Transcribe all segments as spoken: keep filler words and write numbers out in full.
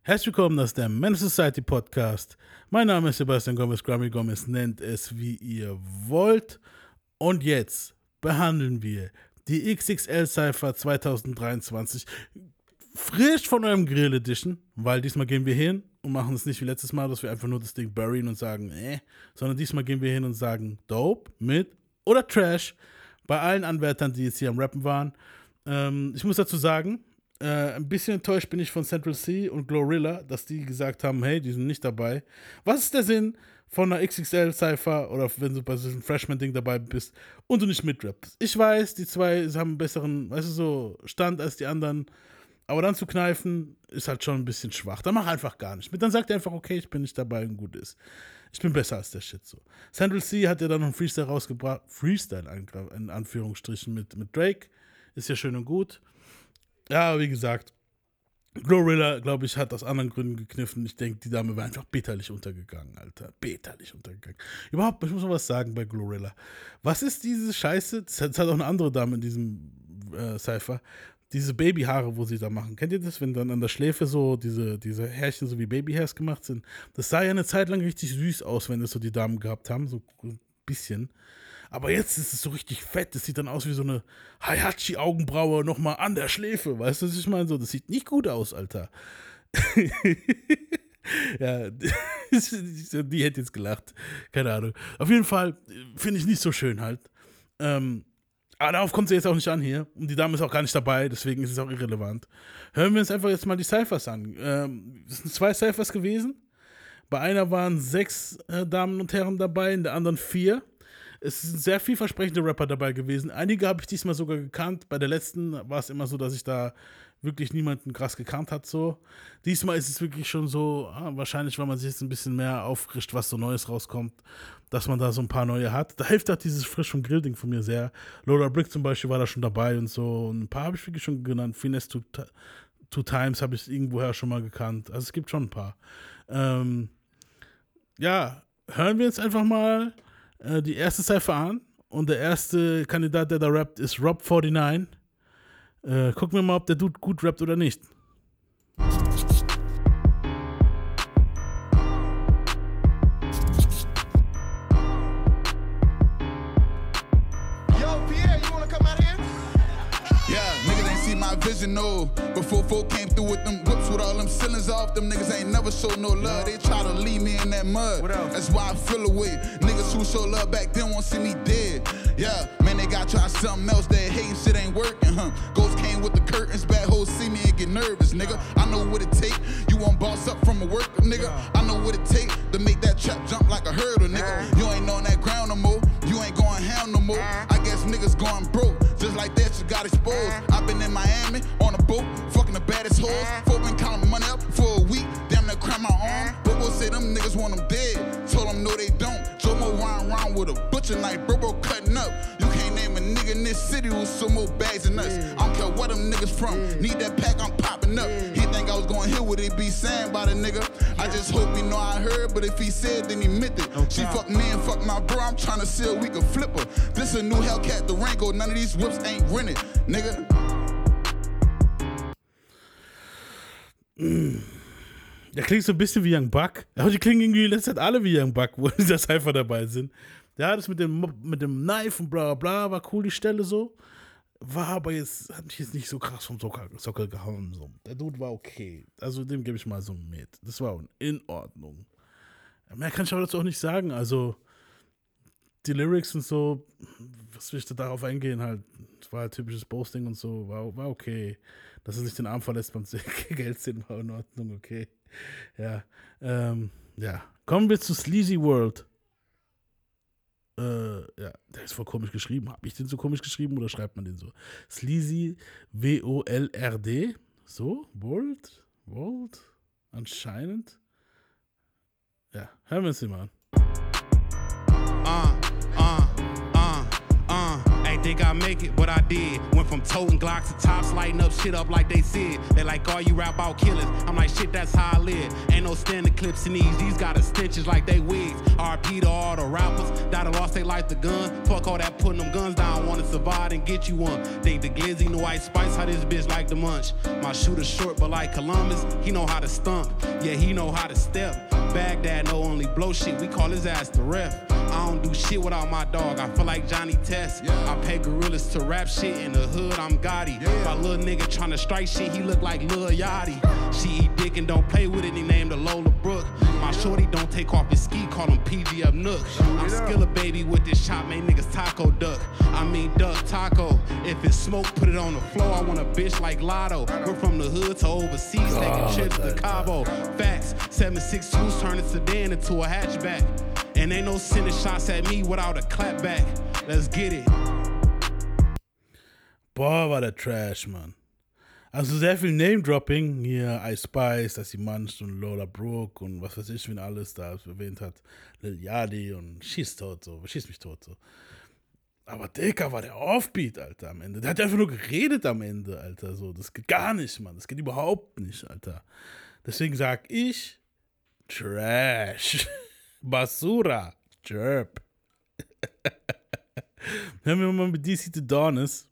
Herzlich willkommen, das ist der Menace Society Podcast. Mein Name ist Sebastian Gomez, Grammy Gomez, nennt es wie ihr wollt. Und jetzt behandeln wir die X X L Cypher zwanzig dreiundzwanzig frisch von eurem Grill Edition, weil diesmal gehen wir hin und machen es nicht wie letztes Mal, dass wir einfach nur das Ding buryen und sagen, äh, sondern diesmal gehen wir hin und sagen Dope, mit oder Trash bei allen Anwärtern, die jetzt hier am Rappen waren. Ähm, ich muss dazu sagen, Äh, ein bisschen enttäuscht bin ich von Central C und Glorilla, dass die gesagt haben, hey, die sind nicht dabei. Was ist der Sinn von einer X X L Cypher oder wenn du bei so einem Freshman-Ding dabei bist und du nicht mitrappst? Ich weiß, die zwei haben einen besseren, weißt du, so Stand als die anderen, aber dann zu kneifen ist halt schon ein bisschen schwach. Dann mach einfach gar nicht mit. Dann sagt er einfach, okay, ich bin nicht dabei und gut ist. Ich bin besser als der Shit so. Central C hat ja dann noch einen Freestyle rausgebracht, Freestyle in Anführungsstrichen mit, mit Drake, ist ja schön und gut. Ja, wie gesagt, Glorilla, glaube ich, hat aus anderen Gründen gekniffen. Ich denke, die Dame war einfach bitterlich untergegangen, Alter. Bitterlich untergegangen. Überhaupt, ich muss mal was sagen bei Glorilla. Was ist diese Scheiße? Das hat auch eine andere Dame in diesem äh, Cypher. Diese Babyhaare, wo sie da machen. Kennt ihr das, wenn dann an der Schläfe so diese, diese Härchen so wie Babyhairs gemacht sind? Das sah ja eine Zeit lang richtig süß aus, wenn das so die Damen gehabt haben. So ein bisschen. Aber jetzt ist es so richtig fett. Das sieht dann aus wie so eine Heihachi-Augenbraue nochmal an der Schläfe. Weißt du, was ich meine? So, das sieht nicht gut aus, Alter. Ja, die hätte jetzt gelacht. Keine Ahnung. Auf jeden Fall finde ich nicht so schön halt. Ähm, aber darauf kommt sie jetzt auch nicht an hier. Und die Dame ist auch gar nicht dabei, deswegen ist es auch irrelevant. Hören wir uns einfach jetzt mal die Cyphers an. Ähm, es sind zwei Cyphers gewesen. Bei einer waren sechs äh, Damen und Herren dabei, in der anderen vier. Es sind sehr vielversprechende Rapper dabei gewesen. Einige habe ich diesmal sogar gekannt. Bei der letzten war es immer so, dass ich da wirklich niemanden krass gekannt hat. So. Diesmal ist es wirklich schon so, ah, wahrscheinlich, weil man sich jetzt ein bisschen mehr auffrischt, was so Neues rauskommt, dass man da so ein paar neue hat. Da hilft halt dieses Frisch vom Grill-Ding von mir sehr. Lola Brick zum Beispiel war da schon dabei und so. Und ein paar habe ich wirklich schon genannt. Finesse Two, two Times habe ich irgendwoher schon mal gekannt. Also es gibt schon ein paar. Ähm, ja, hören wir jetzt einfach mal die erste Cypher an und der erste Kandidat, der da rappt, ist Rob neunundvierzig. Äh, gucken wir mal, ob der Dude gut rappt oder nicht. Vision, no. Before folk came through with them whips with all them cylinders off, them niggas ain't never showed no love. They try to leave me in that mud. That's why I feel away. Niggas who show love back then won't see me dead. Yeah, man, they gotta try something else. That hating shit ain't working, huh? Ghosts came with the curtains, bad hoes see me and get nervous, nigga. I know what it take. You won't boss up from a worker, nigga. I know what it take to make that trap jump like a hurdle, nigga. You ain't on that ground no more. You ain't going ham no more. I guess niggas going broke. Just like that, you got exposed. I've been in Miami on a boat, fucking the baddest hoes. Folk been counting money up for a week, damn near crack my arm. Bobo say them niggas want them dead. Told them no they don't. Jomo riding around with a butcher knife, Bobo cutting up. You can't name a nigga in this city who's some more bags than us. I don't care where them niggas from. Need that pack, I'm popping up. He think I was gonna hear what he be saying about a nigga. I just hope he know I heard, but if he said, then he meant it. She fuck me and fuck my bro, I'm trying to see if we can flip her. This a new Hellcat Durango, none of these whips ain't rented, nigga. Der klingt so ein bisschen wie Young Buck. Aber die klingen irgendwie in letzter Zeit alle wie Young Buck, wo in dieser Cypher dabei sind. Ja, das mit dem, mit dem Knife und bla bla war cool, die Stelle so. War aber jetzt, hat mich jetzt nicht so krass vom Sockel, Sockel gehauen. So. Der Dude war okay. Also dem gebe ich mal so mit. Das war in Ordnung. Mehr kann ich aber dazu auch nicht sagen. Also die Lyrics und so, was will ich da darauf eingehen halt. Das war halt typisches Boasting und so, war, war okay. Dass er sich den Arm verlässt beim Geld sehen, war in Ordnung, okay. Ja, ähm, ja. Kommen wir zu Sleazy World. Äh, ja, der ist voll komisch geschrieben. Habe ich den so komisch geschrieben oder schreibt man den so? Sleazy, W O L R D. So, World, World, anscheinend. Ja, hören wir uns den mal an. Uh, uh, uh, uh. Ain't think I make it, but I did. Went from toting Glocks to tops, lighting up shit up like they said. They like, all you rap about killers. I'm like, shit, that's how I live. Ain't no standing clips in these. These got extensions like they wigs. R P to all the rappers that lost their life to gun. Fuck all that putting them guns down. Wanna survive and get you one. Think the glizzy, the white spice, how this bitch like to munch. My shooter short, but like Columbus, he know how to stump. Yeah, he know how to step. Baghdad no only blow shit, we call his ass the ref. I don't do shit without my dog, I feel like Johnny Test. Yeah. I pay gorillas to rap shit, in the hood I'm Gotti. Yeah. My little nigga tryna strike shit, he look like Lil Yachty. She eat dick and don't play with it, he named her Lola Brooke. My shorty don't take off his ski, call him P G up Nook. I'm still a baby with this chop, made niggas taco duck. I mean duck taco. If it's smoke, put it on the floor, I want a bitch like Lotto. We're from the hood to overseas, God, taking trips to Cabo. Facts, seven six twos turn a sedan into a hatchback. And ain't no sending shots at me without a clapback. Let's get it. Boah, war der Trash, Mann. Also sehr viel Name-Dropping. Hier Ice Spice, dass sie Munch und Lola Brooke und was weiß ich, wen alles da erwähnt hat. Lil Yachty und schieß tot, so. Schieß mich tot, so. Aber Dicker war der Offbeat, Alter, am Ende. Der hat einfach nur geredet am Ende, Alter, so. Das geht gar nicht, Mann. Das geht überhaupt nicht, Alter. Deswegen sag ich Trash. Basura. Chirp. Hören wir mal mit D C The Dawness.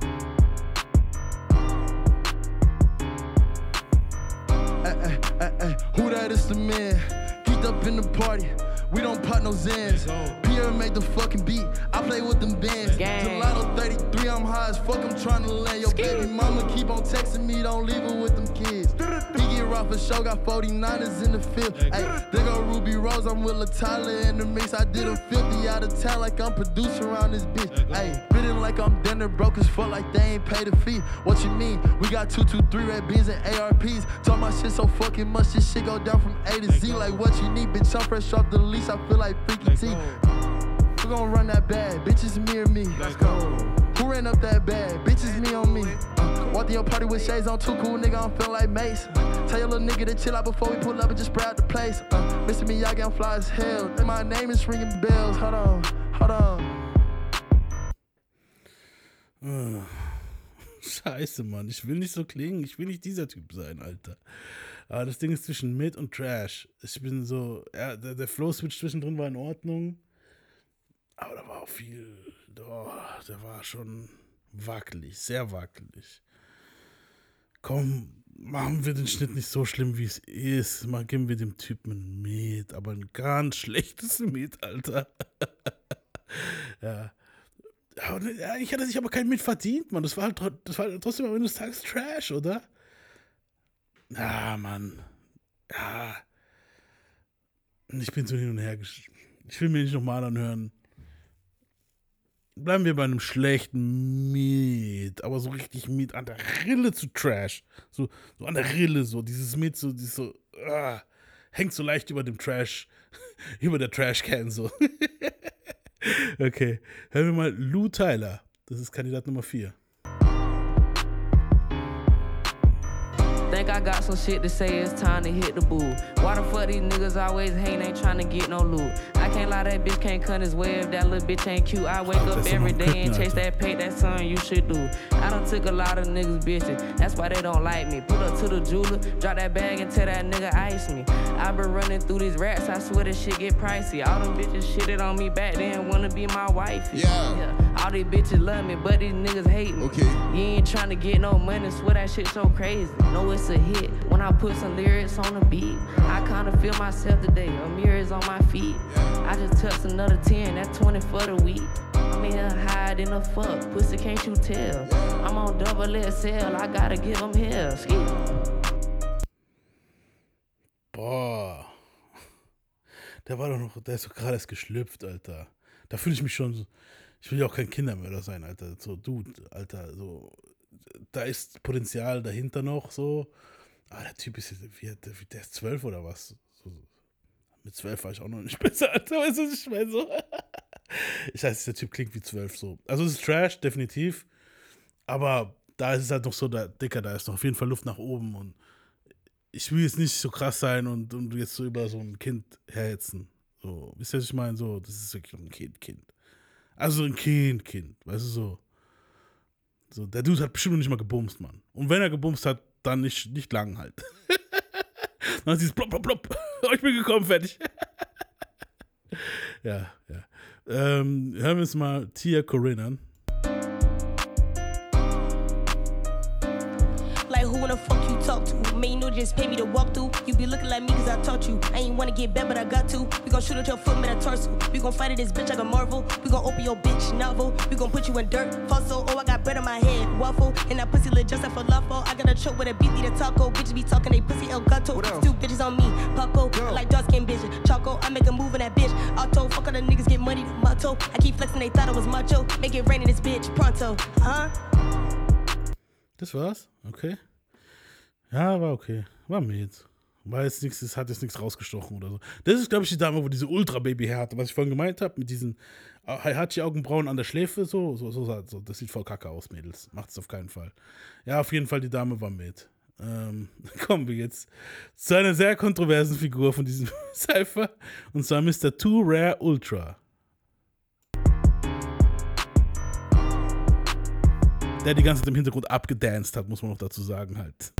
Ay, ay, ay, ay. Who that is the man? Geeked up in the party. We don't pop no Zans. Pierre made the fucking beat. I play with them bands. Gelato thirty-three, I'm high as fuck. I'm trying to land. Your baby mama keep on texting me. Don't leave her with them kids. He get raw for show. Got forty-niners in the field. Hey, there go Ruby Rose. I'm with LaTyler in the mix. I did a filthy out of town like I'm producer around this bitch. Hey, spitting like I'm dinner broke as fuck like they ain't paid a fee. What you mean? We got two two three red beans and A R Ps. Talk my shit so fucking much. This shit go down from A to Z. Like what you need, bitch. I'm fresh off the lease. I feel like Freaky T. Who gon' run that bad? Bitches me or me? Let's go. Who ran up that bad? Bitches me on me. Uh, walked in your party with shades on, too cool, nigga. I'm feeling like Mace. Tell your little nigga to chill out before we pull up and just spray out the place. Uh, Mister Miyagi, I'm fly as hell. And my name is ringing bells. Hold on, hold on. Scheiße, Mann. Ich will nicht so klingen. Ich will nicht dieser Typ sein, Alter. Aber das Ding ist zwischen Mid und Trash. Ich bin so, ja, der, der Flow-Switch zwischendrin war in Ordnung. Aber da war auch viel, oh, der war schon wackelig, sehr wackelig. Komm, machen wir den Schnitt nicht so schlimm, wie es ist. Mal geben wir dem Typen ein Mid, aber ein ganz schlechtes Mid, Alter. Ja. Ja, ich hatte sich aber kein Mid verdient, Mann. Das war halt, das war halt trotzdem am Ende des Tages Trash, oder? Ja, Mann. Ja. Ich bin so hin und her gesch... Ich will mir nicht nochmal anhören. Bleiben wir bei einem schlechten Mid. Aber so richtig Mid an der Rille zu Trash. So, so an der Rille, so. Dieses Mid, so, dieses so... Ah, hängt so leicht über dem Trash. Über der Trash-Can, so. Okay. Hören wir mal Lou Tyler. Das ist Kandidat Nummer vier. Think I got some shit to say, it's time to hit the boo. Why the fuck these niggas always hating, ain't trying to get no loot? I can't lie, that bitch can't cut his way if that little bitch ain't cute. I wake oh, up every day and chase that pay, that's something you should do. I done took a lot of niggas bitches, that's why they don't like me. Pull up to the jeweler, drop that bag and tell that nigga ice me. I been running through these rats, I swear this shit get pricey. All them bitches shitted on me back then, wanna be my wife. Yeah. yeah. All these bitches love me, but these niggas hate me. Okay. You ain't trying to get no money, swear that shit so crazy. No, it's a hit when I put some lyrics on the beat. I kinda feel myself today, a mirror is on my feet. I just touched another ten, that's twenty for the week. I'm in here hide in the fuck, pussy can't you tell? I'm on double X L, I gotta give them hell. Ski. Boah. Der war doch noch, der ist doch gerade erst geschlüpft, Alter. Da fühle ich mich schon so, ich will ja auch kein Kindermörder sein, Alter. So, Dude, Alter, so, da ist Potenzial dahinter noch, so. Aber der Typ ist, wie, der ist zwölf oder was? So, mit zwölf war ich auch noch nicht besser, Alter. Weißt du, was ich meine? So. Ich weiß, der Typ klingt wie zwölf, so. Also, es ist Trash, definitiv. Aber da ist es halt noch so, der Dicker, da ist noch auf jeden Fall Luft nach oben. Und ich will jetzt nicht so krass sein und, und jetzt so über so ein Kind herhetzen. So, wisst ihr, was ich meine? So, das ist wirklich ein Kind, Kind. Also ein Kind, Kind, weißt du, so. So, der Dude hat bestimmt noch nicht mal gebumst, Mann. Und wenn er gebumst hat, dann nicht, nicht lang halt. Dann ist dieses plopp, plopp, plopp. Oh, ich bin gekommen, fertig. Ja, ja. Ähm, hören wir uns mal Tia Corinne an. Like who wanna fuck you talk to? Man, you know just pay me to walk through. You be looking like me cause I taught you. I ain't wanna get bad, but I got to. We gon' shoot at your foot with a torso. We gon' fight at this bitch like a Marvel. We gon' open your bitch novel. We gon' put you in dirt. Fossil, oh I got bread on my head. Waffle, and that pussy lit just like falafel. I got a choke with a beat, the taco. Bitches be talking, they pussy El Gato. Two bitches on me, Paco. Like dark skin bitch, Choco. I make a move in that bitch. Auto, fuck all the niggas get money, the motto. I keep flexing, they thought I was macho. Make it rain in this bitch, pronto. Huh? Das war's? Okay. Ja, war okay. War mir jetzt. War jetzt nichts, es hat jetzt nichts rausgestochen oder so. Das ist, glaube ich, die Dame, wo diese Ultra-Baby-Hair hatte, was ich vorhin gemeint habe, mit diesen Heihachi-Augenbrauen an der Schläfe, so, so, so, so, das sieht voll kacke aus, Mädels. Macht es auf keinen Fall. Ja, auf jeden Fall, die Dame war mit. Ähm, kommen wir jetzt zu einer sehr kontroversen Figur von diesem Cypher, und zwar Mister Too Rare Ultra. Der die ganze Zeit im Hintergrund abgedanced hat, muss man noch dazu sagen halt.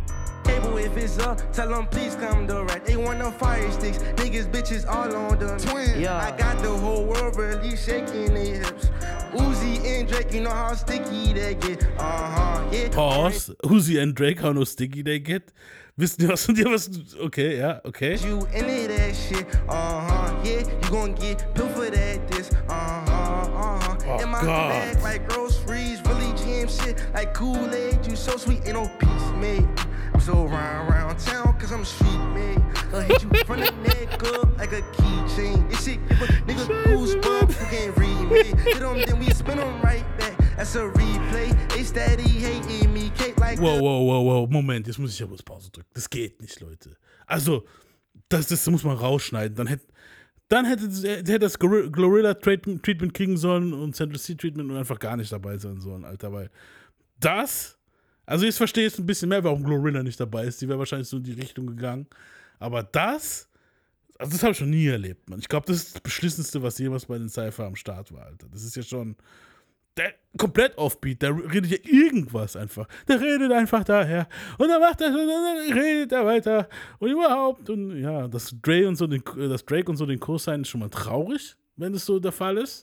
If it's up, tell them please come direct. They want no fire sticks, niggas, bitches all on them. Twin. Yeah. I got the whole world really shaking their hips. Uzi and Drake, you know how sticky they get. Uh-huh, yeah. Pause. Uzi and Drake, how no sticky they get. Wissen die was von dir was? Okay, ja, okay. You into that shit. Uh-huh, yeah. You gon' get pilfered at this. Uh-huh, uh-huh. Oh, in my God. bag like groceries, really jam shit like Kool-Aid. You so sweet, ain't no peace made. I'm so round round town cause I'm street made. I'll hit you from the neck up like a keychain. This shit give a nigga goosebumps, you can't read me. Hit them, then we spin them right back. That's a replay. They steady hating me, cake like. Wow, wow, wow, wow. Moment, jetzt muss ich ja bloß Pause drücken. Das geht nicht, Leute. Also, das, das muss man rausschneiden. Dann hätte, dann hätte, hätte das Glorilla Treatment kriegen sollen und Central C Treatment und einfach gar nicht dabei sein sollen, Alter, weil das. Also jetzt verstehe ich ein bisschen mehr, warum Glorilla nicht dabei ist. Die wäre wahrscheinlich so in die Richtung gegangen. Aber das, also das habe ich schon nie erlebt, Mann. Ich glaube, das ist das Beschlissenste, was jemals bei den Cypher am Start war, Alter. Das ist ja schon der komplett offbeat. Der redet ja irgendwas einfach. Der redet einfach daher. Und dann macht er, dann redet er weiter. Und überhaupt. Und ja, dass Drake und so den, dass Drake und so den Kurs sein, ist schon mal traurig, wenn das so der Fall ist.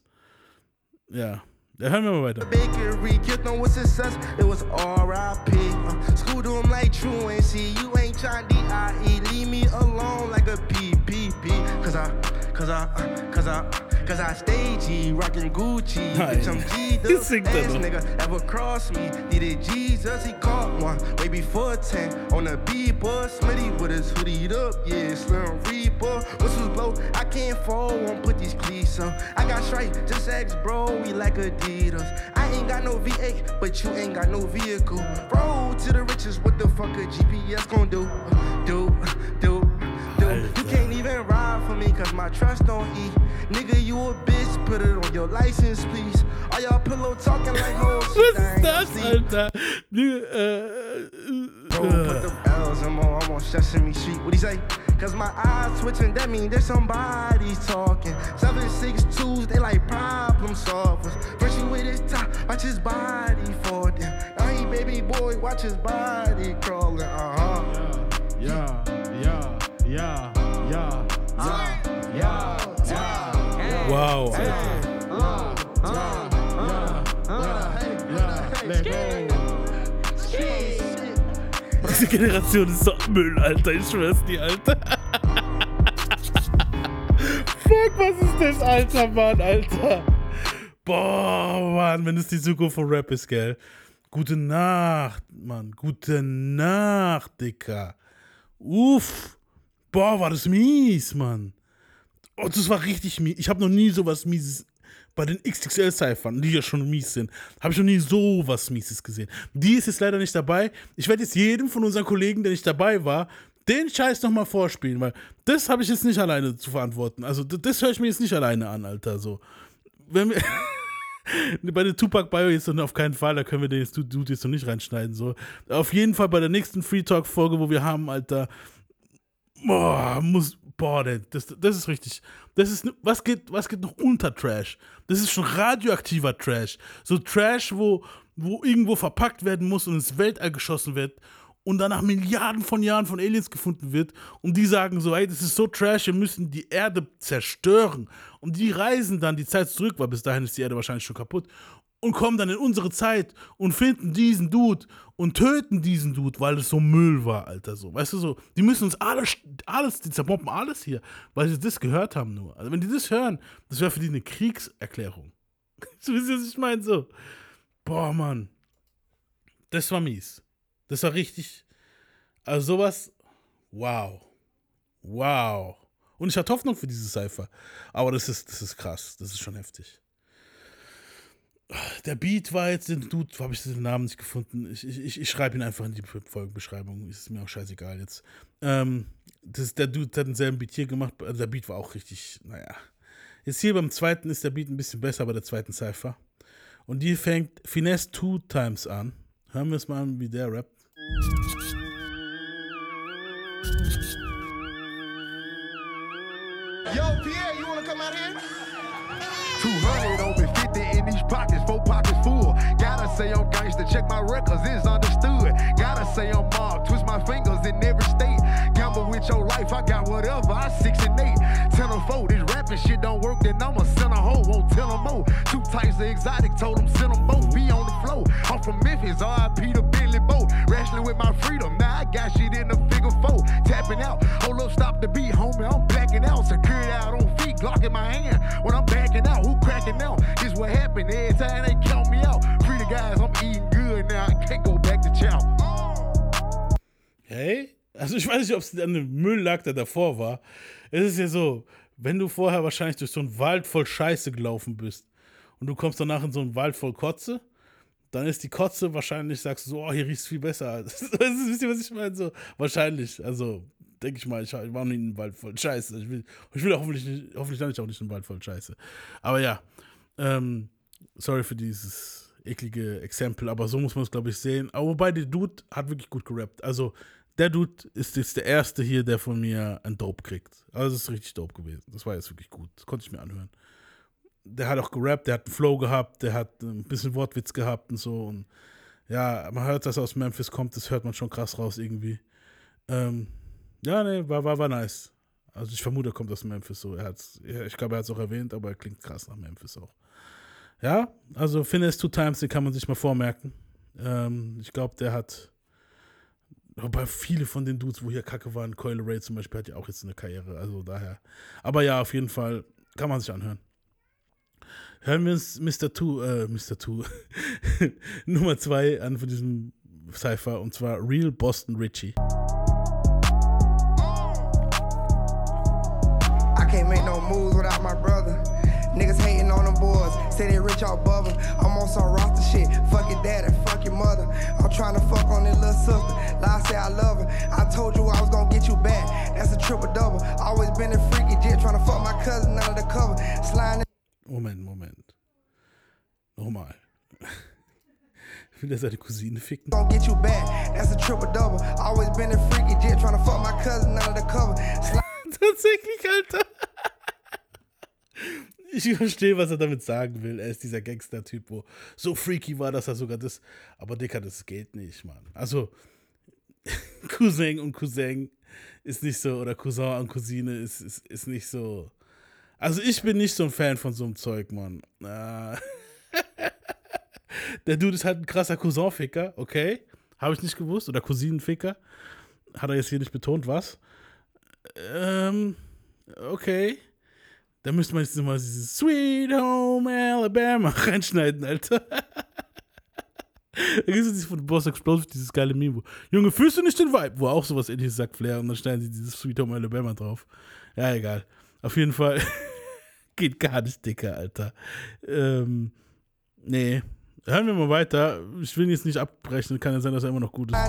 Ja. Ja, hören wir mal weiter. Bakery, killed them with success, it was R I P. Uh, school to him like truancy, you ain't trying D I E. Leave me alone like a P P P. Cause I, cause I, cause I, cause I stay G, rockin' Gucci. Nein. Bitch, I'm G'd up. Ass nigga ever crossed me. Needed Jesus, he caught one way before ten. On the B-bus, Smitty with his hoodied up. Yeah, Slim Reaper. Whistles blow, I can't fall, won't put these cleats on. I got straight, just ask bro, we like a I ain't got no V eight, but you ain't got no vehicle. Road to the riches, what the fuck a G P S gon' do? Do, do, do. You can't even ride for me, cause my trust don't eat. Nigga, you a bitch, put it on your license, please. All y'all pillow talking like hoes. Was ist das, Alter? Äh, Bro, put the bells, I'm on, I'm on Sesame Street. What'd he say? Cause my eyes twitching, that mean there's somebody talking. Seven, six, twos, they like problem solvers. First you with his top, watch his body for them. Now he baby boy, watch his body crawling. Uh-huh. Yeah, yeah, yeah, yeah, yeah, yeah, yeah. Wow, Alter. Diese Generation ist so Müll, Alter. Ich schwör's dir, Alter. Fuck, was ist das, Alter, Mann, Alter. Boah, Mann, wenn es die Zukunft von Rap ist, gell. Gute Nacht, Mann. Gute Nacht, Dicker. Uff. Boah, war das mies, Mann. Oh, das war richtig mies. Ich habe noch nie sowas Mieses bei den X X L-Cyphern, die ja schon mies sind, habe ich noch nie sowas Mieses gesehen. Die ist jetzt leider nicht dabei. Ich werde jetzt jedem von unseren Kollegen, der nicht dabei war, den Scheiß nochmal vorspielen, weil das habe ich jetzt nicht alleine zu verantworten. Also das, das höre ich mir jetzt nicht alleine an, Alter. So. Wenn wir bei der Tupac Bio jetzt noch auf keinen Fall, da können wir den jetzt, Dude jetzt noch nicht reinschneiden. So. Auf jeden Fall bei der nächsten Free Talk Folge, wo wir haben, Alter, boah, muss boah, das, das ist richtig, das ist, was geht, was geht noch unter Trash? Das ist schon radioaktiver Trash. So Trash, wo, wo irgendwo verpackt werden muss und ins Weltall geschossen wird und dann nach Milliarden von Jahren von Aliens gefunden wird und die sagen so, ey, das ist so Trash, wir müssen die Erde zerstören. Und die reisen dann die Zeit zurück, weil bis dahin ist die Erde wahrscheinlich schon kaputt, und kommen dann in unsere Zeit und finden diesen Dude und töten diesen Dude, weil es so Müll war, Alter, so. Weißt du, so, die müssen uns alles, alles, die zerbomben alles hier, weil sie das gehört haben nur. Also wenn die das hören, das wäre für die eine Kriegserklärung. So wisst ihr, was ich meine? So, boah, Mann. Das war mies. Das war richtig, also sowas, wow. Wow. Und ich hatte Hoffnung für diese Cypher. Aber das ist, das ist krass, das ist schon heftig. Der Beat war jetzt, den Dude, habe ich den Namen nicht gefunden. Ich, ich, ich schreibe ihn einfach in die Folgenbeschreibung. Ist mir auch scheißegal jetzt. Ähm, das, der Dude hat denselben Beat hier gemacht. Also der Beat war auch richtig, naja. Jetzt hier beim zweiten ist der Beat ein bisschen besser, bei der zweiten Cypher. Und die fängt Finesse Two Times an. Hören wir es mal an, wie der rappt. Yo, Pierre, you wanna come out here? two hundred on me, fifty in these pockets, four pockets full. Gotta say I'm gangster, check my records, it's understood. Gotta say I'm mob, twist my fingers in every state. Gamble with your life, I got whatever, I six and eight. Ten or four, this rapping shit don't work, then I'ma send a hoe, won't tell them more. Two types of exotic, told them send them both, be on the flow. I'm from Memphis, R I P to Bentley Boat. Wrestling with my freedom, now I got shit in the figure four. Tapping out, hold up, stop the beat, homie, I'm blacking out. Secured out on feet, Glock in my hand. When I'm backing out, who cracking out? This what happened every time they count me out. Free the guys, I'm eating good now, I can't go back to chow. Hey, also ich weiß nicht, ob es an dem Müll lag, der davor war. Es ist ja so, wenn du vorher wahrscheinlich durch so einen Wald voll Scheiße gelaufen bist und du kommst danach in so einen Wald voll Kotze, dann ist die Kotze wahrscheinlich, sagst du so, oh, hier riecht es viel besser. Wisst ihr, was ich meine? So, wahrscheinlich, also denke ich mal, ich war noch nie in einem Wald voll Scheiße. Ich will, ich will hoffentlich, nicht, hoffentlich lande ich auch nicht in einem Wald voll Scheiße. Aber ja, ähm, sorry für dieses eklige Exempel, aber so muss man es, glaube ich, sehen. Aber wobei, der Dude hat wirklich gut gerappt. Also, der Dude ist jetzt der Erste hier, der von mir ein Dope kriegt. Also, das ist richtig dope gewesen. Das war jetzt wirklich gut. Das konnte ich mir anhören. Der hat auch gerappt, der hat einen Flow gehabt, der hat ein bisschen Wortwitz gehabt und so. Und ja, man hört, dass er aus Memphis kommt, das hört man schon krass raus irgendwie. Ähm, ja, nee, war, war, war nice. Also ich vermute, er kommt aus Memphis so. Er hat's, ich glaube, er hat es auch erwähnt, aber er klingt krass nach Memphis auch. Ja, also Finesse Two Times, den kann man sich mal vormerken. Ähm, ich glaube, der hat, wobei viele von den Dudes, wo hier Kacke waren, Coil Ray zum Beispiel, hat ja auch jetzt eine Karriere, also daher. Aber ja, auf jeden Fall kann man sich anhören. Hören wir uns Mister Two, äh, Mister Two, Nummer zwei an von diesem Cypher, und zwar Real Boston Richie. I can't make no moves without my brother. Niggas hating on them boys, say they rich off bubble. I'm on some roster shit, fuck your daddy, fuck your mother. I'm trying to fuck on this little sister, lie say I love her. I told you I was gonna get you back, that's a triple double. Always been a freaky jet, trying to fuck my cousin under the cover. Sliding. Moment, Moment. Nochmal. Will er seine Cousine ficken? Gonna get you back, that's a triple double. Always been a freaky jet, trying to fuck my cousin under the cover. Tatsächlich, Alter. Ich verstehe, was er damit sagen will. Er ist dieser Gangster-Typ, wo so freaky war, dass er sogar das. Aber Dicker, das geht nicht, Mann. Also, Cousin und Cousin ist nicht so, oder Cousin und Cousine ist, ist, ist nicht so. Also, ich bin nicht so ein Fan von so einem Zeug, Mann. Ah. Der Dude ist halt ein krasser Cousin-Ficker, okay? Habe ich nicht gewusst. Oder Cousinenficker. Hat er jetzt hier nicht betont, was? Ähm, okay. Da müsste man jetzt nochmal dieses Sweet Home Alabama reinschneiden, Alter. Da gibt es von Boss Explosive dieses geile Meme, wo, Junge, fühlst du nicht den Vibe? Wo auch sowas ähnliches sagt Flair, und dann schneiden sie dieses Sweet Home Alabama drauf. Ja, egal. Auf jeden Fall geht gar nicht, Dicker, Alter. Ähm, nee. Hören wir mal weiter. Ich will ihn jetzt nicht abbrechen. Kann ja sein, dass er immer noch gut ist.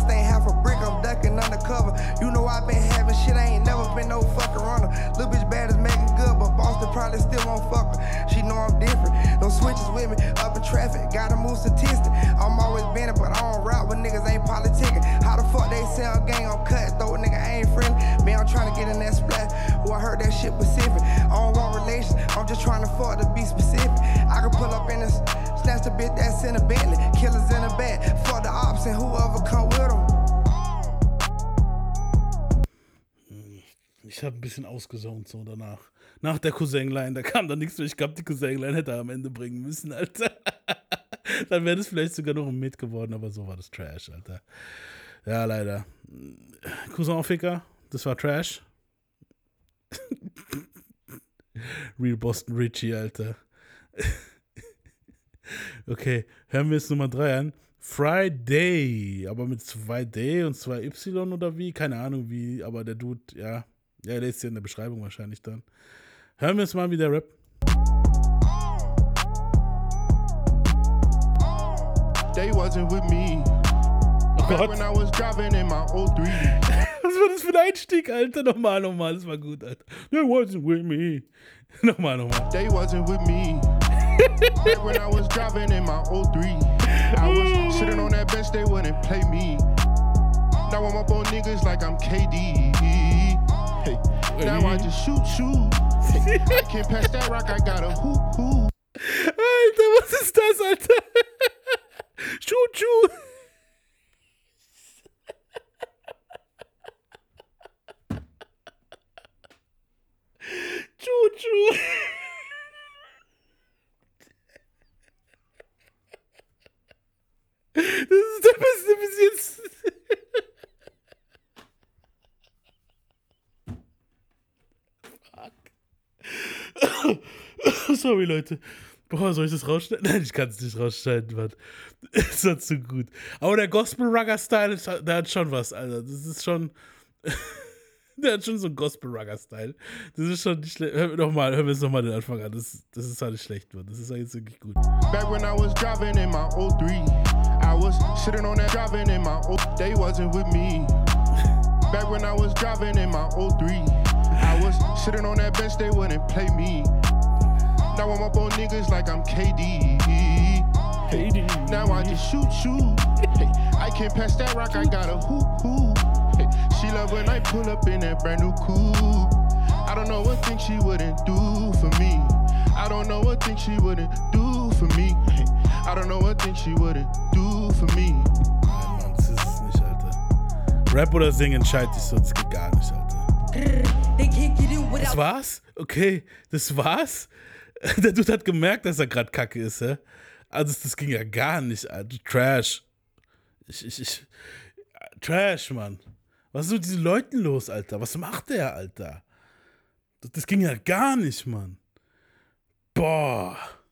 Probably still won't fuck her. She know I'm different. No switches with me. Up in traffic. Gotta move statistic. I'm always been it, but I don't rap with niggas ain't politicking. How the fuck they sell gang on cut? Though nigga ain't friendly. Man, I'm trying to get in that splat. Boy, I heard that shit specific. I don't want relations, I'm just trying to fuck to be specific. I can pull up in this, snatch the bitch that's in a Bentley. Killers in a bed, fuck the ops and whoever come with them. Ich habe ein bisschen ausgesaunt so danach. Nach der Cousin-Line, da kam dann nichts mehr. Ich glaube, die Cousin-Line hätte er am Ende bringen müssen, Alter. Dann wäre das vielleicht sogar noch ein Mit geworden, aber so war das Trash, Alter. Ja, leider. Cousin-Ficker, das war Trash. Real Boston Richie, Alter. Okay, hören wir jetzt Nummer drei an. Friday, aber mit zwei D und zwei Y oder wie? Keine Ahnung wie, aber der Dude, ja. Ja, der ist ja in der Beschreibung wahrscheinlich dann. Hören wir jetzt mal, wie der Rap. They wasn't with me. Oh Gott. When I was driving in my oh three. Was war das für ein Einstieg, Alter? Nochmal, nochmal, das war gut, Alter. They wasn't with me. Nochmal, nochmal. They wasn't with me. Back when I was driving in my oh three. I was sitting on that bench, they wouldn't play me. Now I'm up on niggas like I'm K D. Hey, now I just shoot, shoot. Hey, I can't pass that rock, I got a hoop, hoop. Alter, was ist das, Alter? Shoot, shoot. Shoot, shoot. Das ist der Beste bis jetzt. Fuck. Sorry, Leute. Boah, soll ich das rausschneiden? Nein, ich kann es nicht rausschneiden, Mann. Ist doch zu gut. Aber der Gospel-Rugger-Style, der hat schon was, Alter. Das ist schon... Der hat schon so einen Gospel-Rugger-Style. Das ist schon nicht schlecht. Hör, noch mal, hören wir es nochmal den Anfang an. Das, das ist halt nicht schlecht, Mann. Das ist jetzt wirklich gut. Back when I was driving in my oh three. I was sitting on that driving in my oh... They wasn't with me. Back when I was driving in my oh three. I was sitting on that bench, they wouldn't play me. Now I'm up on niggas like I'm K D. Hey, now I just shoot, shoot. Hey, I can't pass that rock, I got a hoop, hoop. Hey, she love when I pull up in that brand new coupe. I don't know what thing she wouldn't do for me. I don't know what thing she wouldn't do for me. Hey, I don't know what thing she wouldn't do for me. Nein, Mann, das ist es nicht, Alter. Rap oder Singen entscheidet sich so, das geht gar nicht, Alter. Das war's? Okay, das war's? Der Dude hat gemerkt, dass er gerade kacke ist, hä? Also das ging ja gar nicht, Alter. Trash. Ich, ich, ich. Trash, Mann. Was ist mit diesen Leuten los, Alter? Was macht der, Alter? Das, das ging ja gar nicht, Mann. Boah.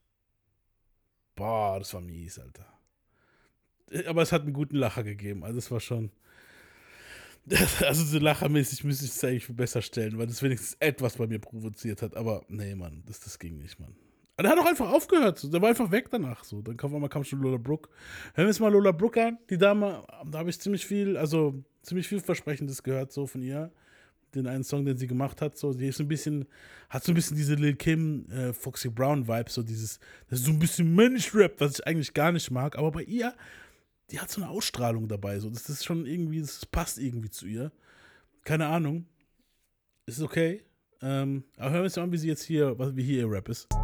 Boah, das war mies, Alter. Aber es hat einen guten Lacher gegeben. Also es war schon... Also so lachermäßig müsste ich es eigentlich besser stellen, weil das wenigstens etwas bei mir provoziert hat. Aber nee, Mann, das, das ging nicht, Mann. Aber der hat auch einfach aufgehört. So. Der war einfach weg danach. So. Dann kam, kam schon Lola Brooke. Hören wir jetzt mal Lola Brooke an. Die Dame, da habe ich ziemlich viel, also ziemlich viel Versprechendes gehört so von ihr. Den einen Song, den sie gemacht hat. So. Die ist so ein bisschen, hat so ein bisschen diese Lil Kim, äh, Foxy Brown Vibe. So dieses, das ist so ein bisschen Mensch-Rap, was ich eigentlich gar nicht mag. Aber bei ihr, die hat so eine Ausstrahlung dabei. So. Das ist schon irgendwie, das passt irgendwie zu ihr. Keine Ahnung. Ist okay. Ähm, aber hören wir uns mal an, wie sie jetzt hier, wie hier ihr Rap ist.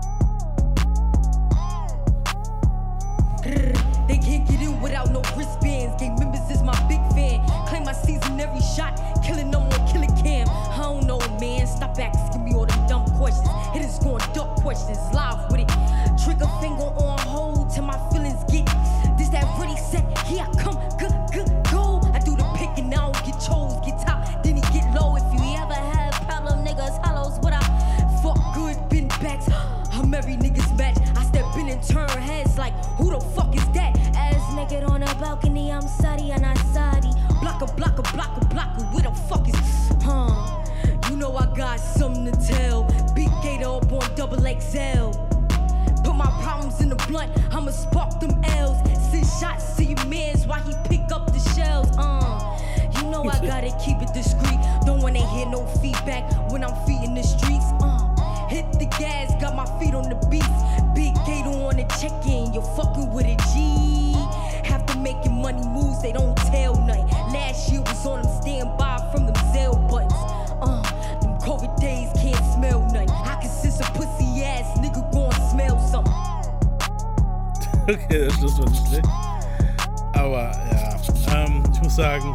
They can't get in without no wristbands. Gang members is my big fan. Claim my season every shot. Killing them on killer cam. I don't know, man. Stop asking me all them dumb questions. Hitters going dumb questions. Live with it. Trigger finger on hold till my feelings get. This that ready set. Here I come. Good, good, go. I do the picking now. Get chose. Get top. Then he get low. If you ever had problem, niggas hollows. What I fuck good. Been backs. I'm every nigga's match. I step in and turn heads like, who the fuck is that? Ass naked on a balcony, I'm Saudi and I Saudi. Blocker, blocker, blocker, blocker, where the fuck is, huh? You know I got something to tell. Big gator up on double X L. Put my problems in the blunt, I'ma spark them L's. Send shots to your mans while he pick up the shells, uh. You know I gotta keep it discreet. Don't wanna hear no feedback when I'm feeding the streets, uh. Hit the gas, got my feet on the beat. Big gator on the check-in, you're fucking with a G. Have to make your money moves, they don't tell nothing. Last year was on them standby from them Zelle buttons. Uh, them COVID Okay, der Schluss war nicht schlecht. Aber ja, ähm, ich muss sagen,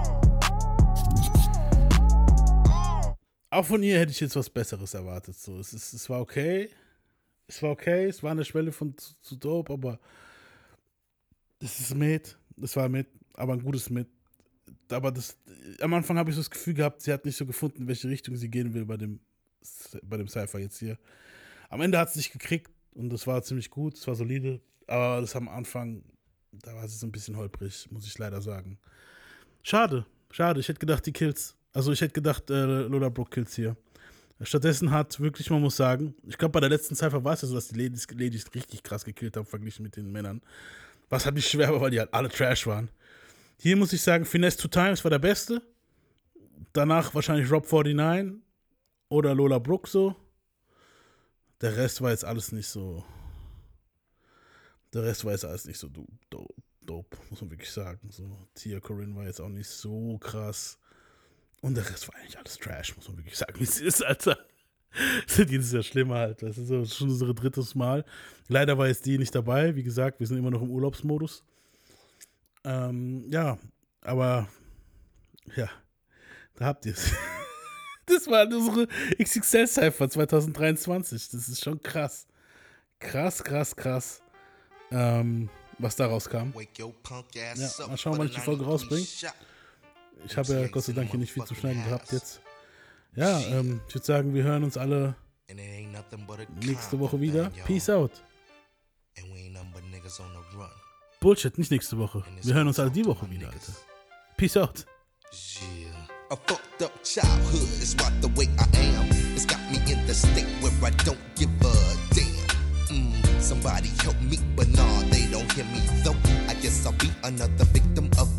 auch von ihr hätte ich jetzt was Besseres erwartet. So, es, ist, es war okay. Es war okay. Es war eine Schwelle von zu, zu dope, aber es ist mit. Es war mit, aber ein gutes mit. Aber das, am Anfang habe ich so das Gefühl gehabt, sie hat nicht so gefunden, in welche Richtung sie gehen will bei dem, bei dem Cypher jetzt hier. Am Ende hat sie sich gekriegt und das war ziemlich gut, es war solide. Aber das am Anfang, da war sie so ein bisschen holprig, muss ich leider sagen. Schade, schade. Ich hätte gedacht, die Kills. Also ich hätte gedacht, äh, Lola Brooke Kills hier. Stattdessen hat wirklich, man muss sagen, ich glaube bei der letzten Cypher war es ja so, dass die Ladies, Ladies richtig krass gekillt haben, verglichen mit den Männern. Was halt nicht schwer war, weil die halt alle Trash waren. Hier muss ich sagen, Finesse Two Times war der Beste. Danach wahrscheinlich Rob neunundvierzig oder Lola Brooke so. Der Rest war jetzt alles nicht so. Der Rest war jetzt alles nicht so dope, dope muss man wirklich sagen. So, Tia Corinne war jetzt auch nicht so krass. Und der Rest war eigentlich alles Trash, muss man wirklich sagen, wie es ist, Alter. Das ist jedes Jahr schlimmer halt. Das ist so, schon unser drittes Mal. Leider war jetzt die nicht dabei. Wie gesagt, wir sind immer noch im Urlaubsmodus. Ähm, ja, aber ja, da habt ihr es. Das war unsere X X L-Cypher zwanzig dreiundzwanzig. Das ist schon krass. Krass, krass, krass. Ähm, was da rauskam. Ja, mal schauen, wann ich die Folge rausbringe. Ich habe ja Gott sei Dank hier nicht viel zu schneiden gehabt jetzt. Ja, ähm, ich würde sagen, wir hören uns alle nächste Woche wieder. Peace out. Bullshit, nicht nächste Woche. Wir hören uns alle die Woche wieder, Alter. Peace out. A fucked up childhood is what the way I am. It's got me in the state where I don't give a damn. Mm, somebody help me, but nah, they don't hear me though. I guess I'll be another victim of